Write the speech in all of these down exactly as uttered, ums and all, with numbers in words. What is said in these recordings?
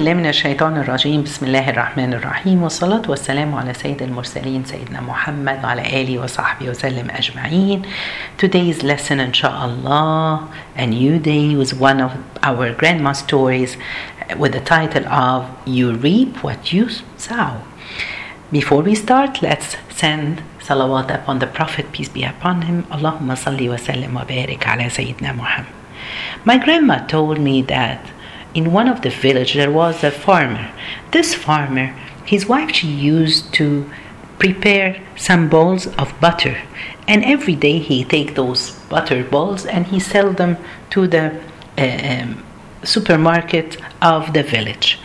بالله من الشيطان الرجيم. بسم الله الرحمن الرحيم، والصلاة والسلام على سيد المرسلين سيدنا محمد وعلى آله وصحبه وسلم أجمعين. Today's lesson, inshallah, a new day, with one of our grandma stories with the title of You Reap What You Sow. Before we start, let's send salawat upon the Prophet, peace be upon him. Allahumma salli wa sallim wa barik ala Sayyidina Muhammad. My grandma told me that in one of the villages there was a farmer. This farmer, his wife, she used to prepare some balls of butter, and every day he take those butter balls and he sell them to the uh, um, supermarket of the village.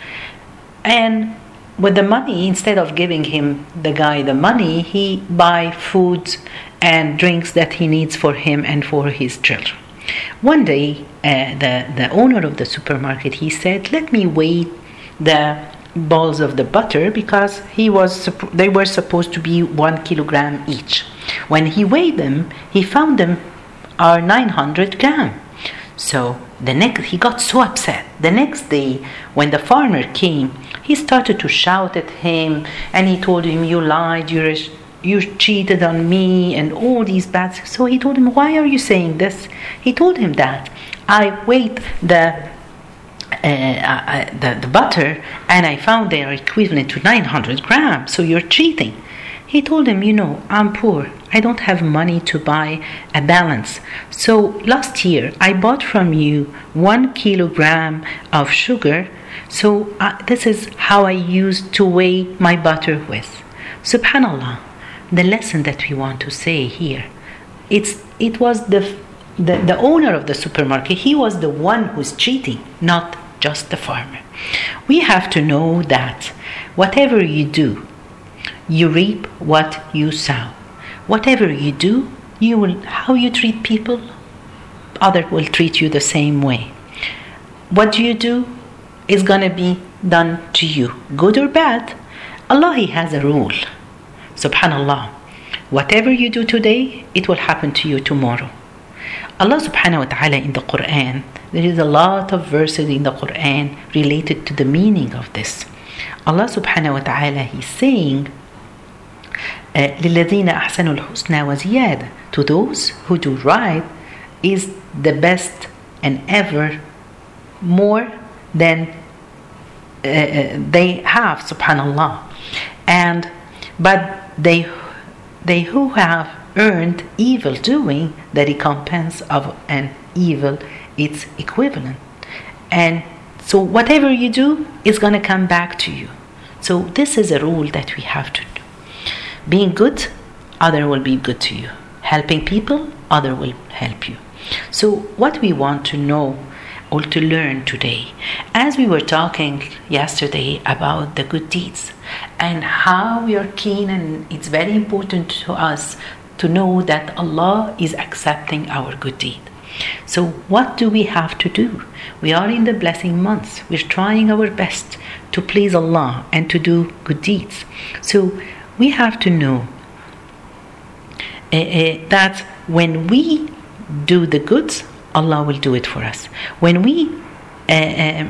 And with the money, instead of giving him the guy the money, he buy foods and drinks that he needs for him and for his children. One day, uh, the, the owner of the supermarket, he said, let me weigh the balls of the butter, because he was they were supposed to be one kilogram each. When he weighed them, he found them are nine hundred gram. So the next, he got so upset. The next day, when the farmer came, he started to shout at him, and he told him, you lied, you're a you cheated on me, and all these bad things. So he told him, why are you saying this? He told him that I weighed the, uh, uh, the the butter, and I found they are equivalent to nine hundred grams, so you're cheating. He told him, you know, I'm poor. I don't have money to buy a balance. So last year, I bought from you one kilogram of sugar. So uh, this is how I used to weigh my butter with. Subhanallah. The lesson that we want to say here, it's it was the, the the owner of the supermarket. He was the one who's cheating, not just the farmer. We have to know that whatever you do, you reap what you sow. Whatever you do, you will how you treat people, others will treat you the same way. What you do is gonna be done to you, good or bad. Allah, He has a rule. Subhanallah, whatever you do today, it will happen to you tomorrow. Allah subhanahu wa ta'ala in the Quran, there is a lot of verses in the Quran related to the meaning of this. Allah subhanahu wa ta'ala, He's saying, لِلَّذِينَ أَحْسَنُوا الْحُسْنَى وَزِيَادَةً, to those who do right is the best and ever more than uh, they have, subhanallah. And but they they who have earned evil doing, the recompense of an evil, it's equivalent. And so whatever you do is going to come back to you. So this is a rule that we have to do. Being good, other will be good to you. Helping people, other will help you. So what we want to know or to learn today, as we were talking yesterday about the good deeds and how we are keen, and it's very important to us to know that Allah is accepting our good deed. So what do we have to do? We are in the blessing months. We're trying our best to please Allah and to do good deeds. So we have to know uh, uh, that when we do the goods, Allah will do it for us. When we uh, uh,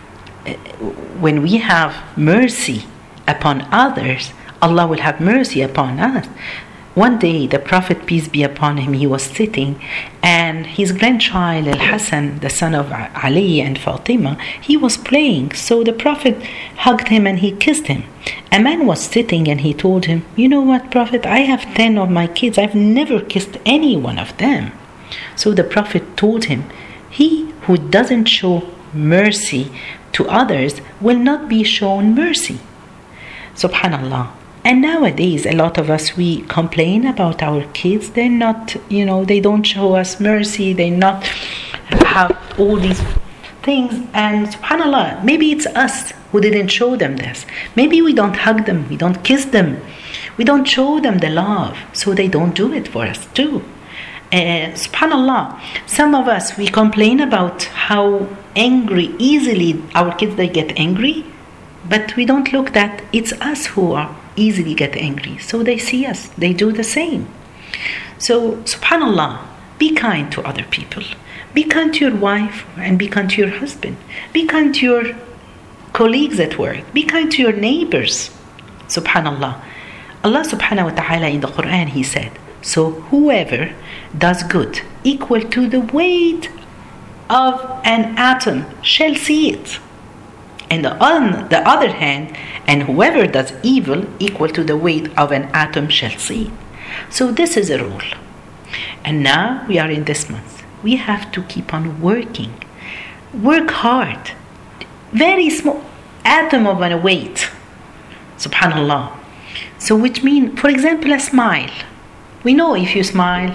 when we have mercy upon others, Allah will have mercy upon us. One day, the Prophet, peace be upon him, he was sitting, and his grandchild Al-Hassan, the son of Ali and Fatima, he was playing. So the Prophet hugged him and he kissed him. A man was sitting and he told him, you know what, Prophet, I have ten of my kids. I've never kissed any one of them. So the Prophet told him, he who doesn't show mercy to others will not be shown mercy. Subhanallah. And nowadays, a lot of us, we complain about our kids. They're not, you know, they don't show us mercy. They not have all these things. And subhanallah, maybe it's us who didn't show them this. Maybe we don't hug them. We don't kiss them. We don't show them the love. So they don't do it for us too. Uh, subhanallah, some of us, we complain about how angry easily our kids, they get angry, but we don't look that it's us who are easily get angry. So they see us, they do the same. So subhanallah, be kind to other people. Be kind to your wife and be kind to your husband. Be kind to your colleagues at work. Be kind to your neighbors. Subhanallah. Allah subhanahu wa ta'ala in the Quran, He said, so whoever does good equal to the weight of an atom shall see it. And on the other hand, and whoever does evil equal to the weight of an atom shall see it. So this is a rule. And now we are in this month. We have to keep on working. Work hard. Very small atom of a weight. Subhanallah. So which means, for example, a smile. We know if you smile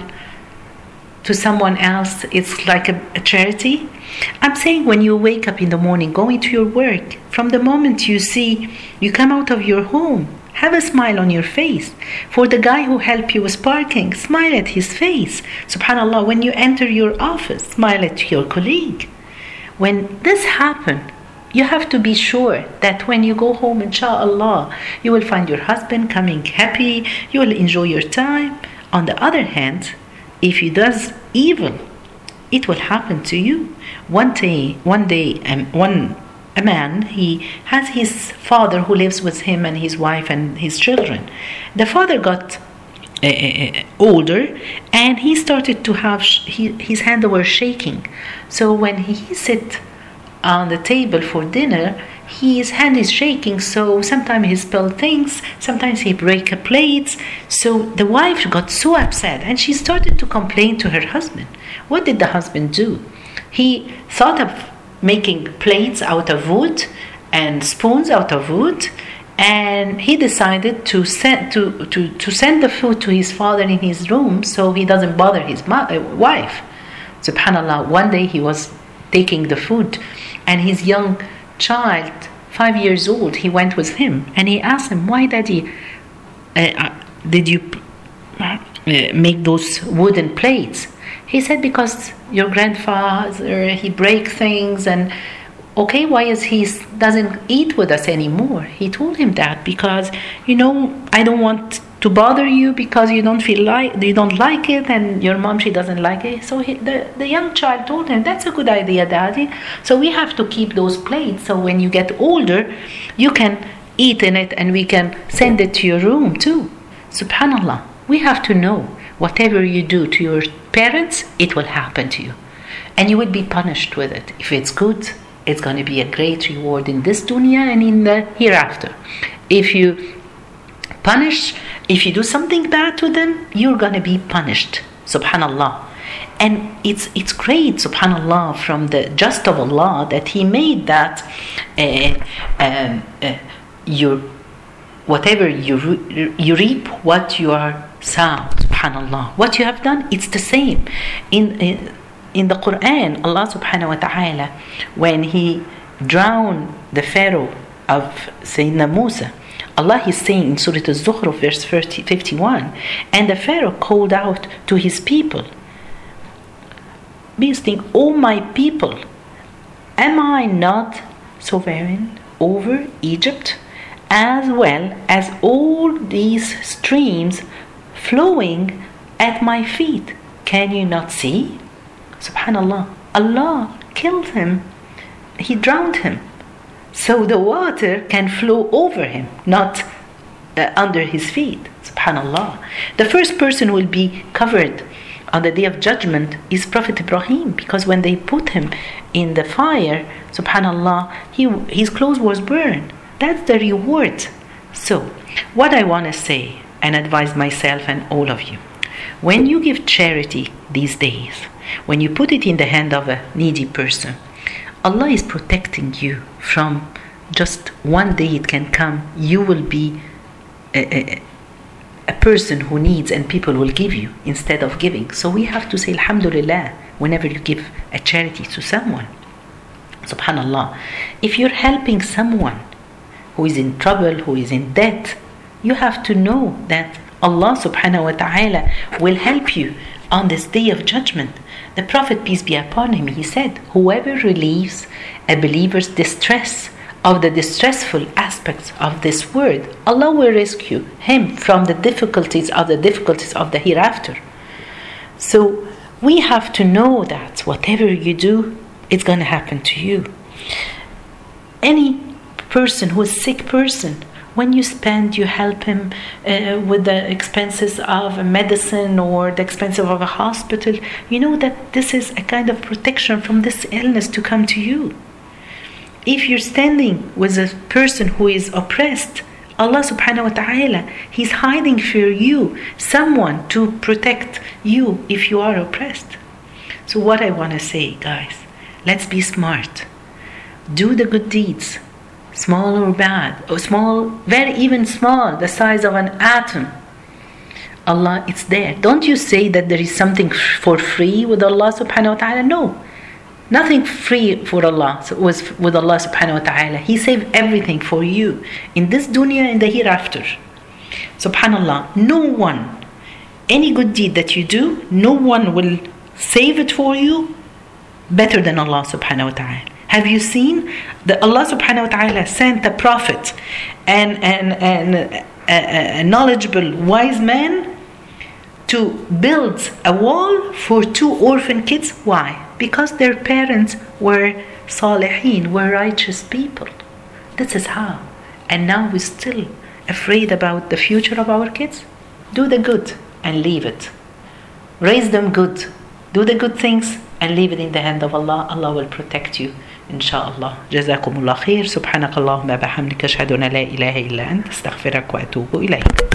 to someone else, it's like a, a charity. I'm saying when you wake up in the morning, going to your work, from the moment you see, you come out of your home, have a smile on your face. For the guy who helped you with parking, smile at his face. Subhanallah, when you enter your office, smile at your colleague. When this happens, you have to be sure that when you go home, inshallah, you will find your husband coming happy, you will enjoy your time. On the other hand, if he does evil, it will happen to you. One day, one day, um, one a man, he has his father who lives with him and his wife and his children. The father got uh, uh, older, and he started to have sh- he, his hand was shaking. So when he sit on the table for dinner, his hand is shaking, so sometimes he spill things, sometimes he break a plate. So the wife got so upset, and she started to complain to her husband. What did the husband do? He thought of making plates out of wood and spoons out of wood, and he decided to send to, to, to send the food to his father in his room so he doesn't bother his mo- uh, wife. Subhanallah, one day he was taking the food, and his young child, five years old, he went with him, and he asked him, why daddy uh, uh, did you uh, make those wooden plates? He said, because your grandfather, he break things, and okay, why is he doesn't eat with us anymore? He told him that because, you know, I don't want to bother you because you don't feel like you don't like it, and your mom, she doesn't like it. So he, the the young child told him, that's a good idea, daddy. So we have to keep those plates, so when you get older, you can eat in it, and we can send it to your room too. Subhanallah, we have to know whatever you do to your parents, it will happen to you, and you will be punished with it. If it's good, it's going to be a great reward in this dunya and in the hereafter. If you punish, if you do something bad to them, you're going to be punished. Subhanallah. And it's it's great, subhanallah, from the just of Allah that He made that uh, um, uh, your whatever you you reap what you are sow. Subhanallah. What you have done, it's the same. In, in in the Quran, Allah subhanahu wa ta'ala, when He drowned the Pharaoh of Sayyidina Musa, Allah is saying in Surah Al-Zukhruf, verse fifty-one, and the Pharaoh called out to his people, saying, O my people, am I not sovereign over Egypt, as well as all these streams flowing at my feet? Can you not see? Subhanallah, Allah killed him. He drowned him. So the water can flow over him, not uh, under his feet. Subhanallah. The first person will be covered on the day of judgment is Prophet Ibrahim, because when they put him in the fire, subhanallah, he, his clothes was burned. That's the reward. So, what I want to say and advise myself and all of you, when you give charity these days, when you put it in the hand of a needy person, Allah is protecting you from just one day it can come, you will be a, a, a person who needs and people will give you instead of giving. So we have to say Alhamdulillah whenever you give a charity to someone. Subhanallah. If you're helping someone who is in trouble, who is in debt, you have to know that Allah subhanahu wa ta'ala will help you on this day of judgment. The Prophet, peace be upon him, he said, whoever relieves a believer's distress of the distressful aspects of this world, Allah will rescue him from the difficulties of the difficulties of the hereafter. So we have to know that whatever you do, it's going to happen to you. Any person who is sick person, when you spend, you help him uh, with the expenses of medicine or the expenses of a hospital. You know that this is a kind of protection from this illness to come to you. If you're standing with a person who is oppressed, Allah subhanahu wa ta'ala, He's hiding for you someone to protect you if you are oppressed. So what I want to say, guys, let's be smart. Do the good deeds, small or bad, or small, very even small, the size of an atom. Allah, it's there. Don't you say that there is something for free with Allah subhanahu wa ta'ala. No. Nothing free for Allah. So it was with Allah subhanahu wa ta'ala. He saved everything for you in this dunya and the hereafter. Subhanallah. No one, any good deed that you do, no one will save it for you better than Allah subhanahu wa ta'ala. Have you seen that Allah subhanahu wa ta'ala sent a prophet and, and, and a, a knowledgeable wise man to build a wall for two orphan kids? Why? Because their parents were salihin, were righteous people. This is how. And now we're still afraid about the future of our kids? Do the good and leave it. Raise them good. Do the good things and leave it in the hand of Allah. Allah will protect you. Inshallah. جزاكم الله خير. سبحانك اللهم وبحمدك أشهد أن لا إله إلا أنت أستغفرك وأتوب إليك.